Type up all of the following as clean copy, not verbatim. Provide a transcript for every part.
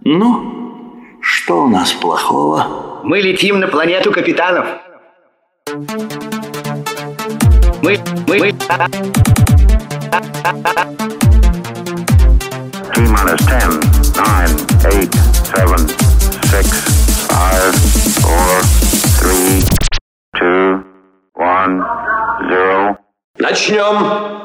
Ну, что у нас плохого? Мы летим на планету капитанов. Мы... T-minus 10, 9, 8, 7, 6, 5, 4, 3, 2, 1, 0. Начнем!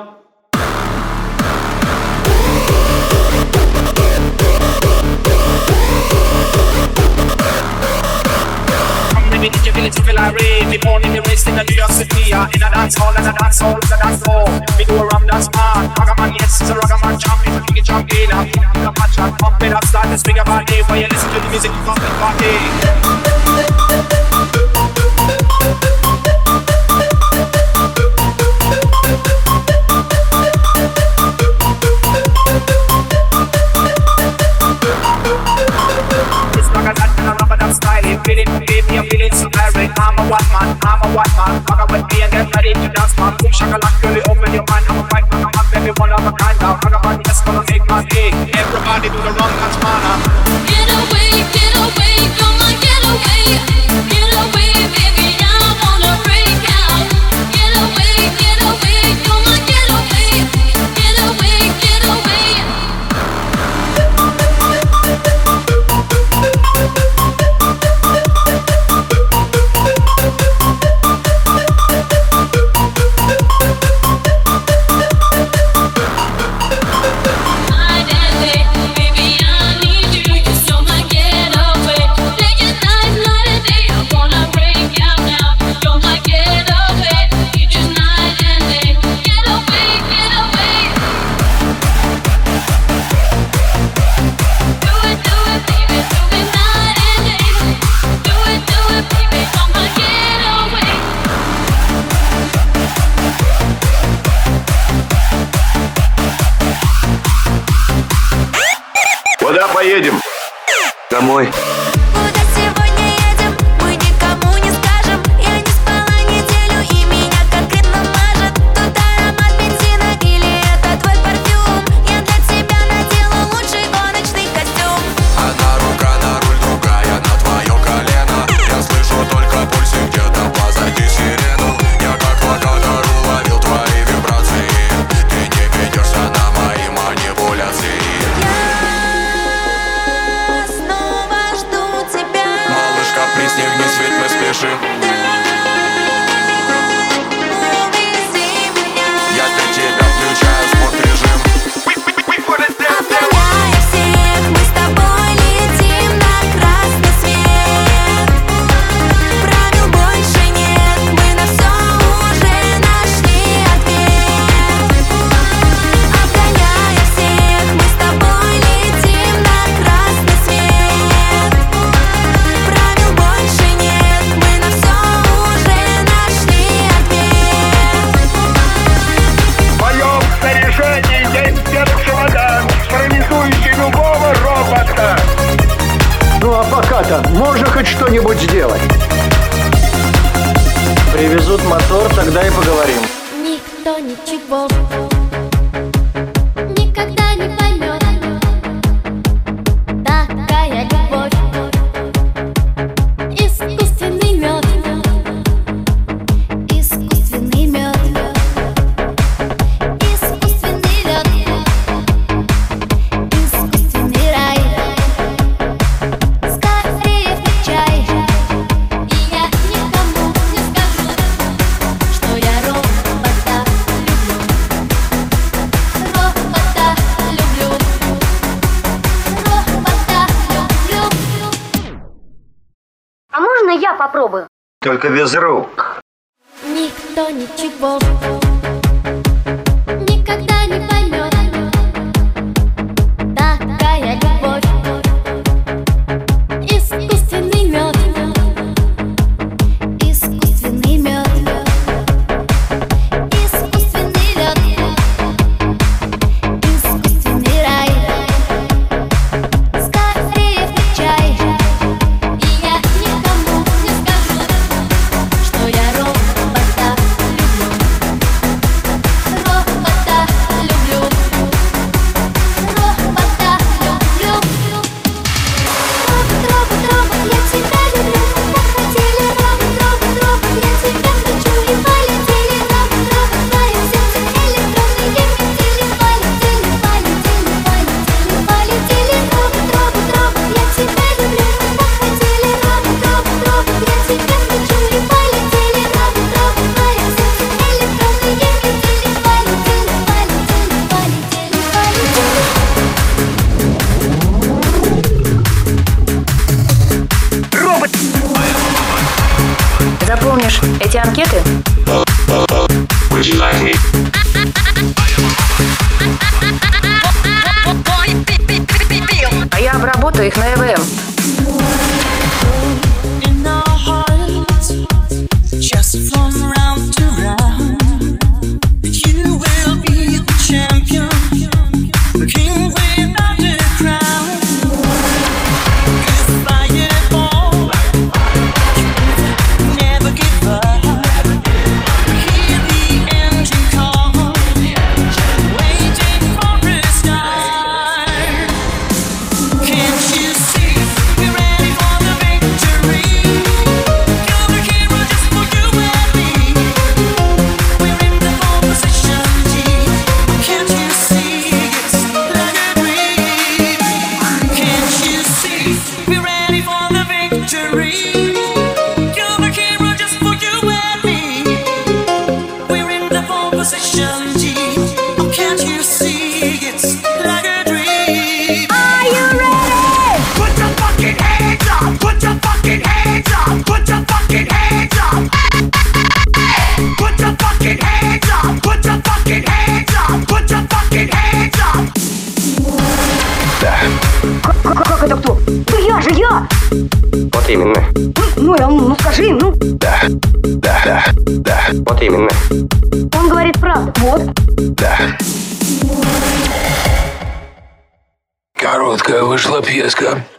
You feel it, you feel irate. We born in the race in New York City. In a dance hall, and a dance hall, and a dance floor. We go around dance man. Ragaman, yes, it's a ragaman champion. We get champion. Come on, chat, pump it up, start to swing about it. While you listen to the music, you fucking party. Feel it, baby, I'm feeling so irate. I'm a white man, Fuck with me and get ready to dance, man. Boom, shakalaka, really open your mind. I'm a white man, I'm a baby, one of a kind. Now, Ragaman, yes, gonna make my day. Everybody do the wrong dance, man. Get away, come on, get away. Get away, baby, I wanna break out. Get away, come on, get away. Get away, get away. Куда поедем? Домой. Куда сегодня едем? Мы никому не скажем. Я не спала неделю и меня конкретно мажет. Тут аромат бензина или это твой парфюм? Я для тебя надела лучший гоночный костюм. Одна рука на руль, другая на твое колено. Я слышу только пульсик где-то позади сирену. Я как локатор уловил твои вибрации. Ты не ведешься на мои манипуляции. Пристегни свет, мы спешим. Я для тебя включаю спорт-режим. Обгоняя всех, мы с тобой летим на красный свет. Правил больше нет, мы на все уже нашли ответ. Обгоняя всех, мы с тобой летим на красный свет. Правил больше нет, мы на все уже нашли ответ. В моем снаряжении есть чемодан, парализующий любого робота. Ну а пока-то можно хоть что-нибудь сделать? Привезут мотор, тогда и поговорим. Никто ничего никогда не поймет. Такая любовь. Искусственный мед. Искусственный мед. Искусственный лед. Искусственный рай. Скорее включай. И я никому не скажу, что я робота люблю. Робота люблю. Робота люблю. А можно я попробую? Только без рук. Никто ничего никогда не поймет. Такая любовь. Искусственный мед. Искусственный мед. Искусственный лед. Искусственный рай. Скорее включай. И я никому не скажу, что я робота люблю. Эти анкеты а я обработаю их на ЭВМ. Как это кто? Да я же я! Вот именно. Ну скажи, ну. Да. Вот именно. Он говорит правду. Вот. Да. Короткая вышла пьеска.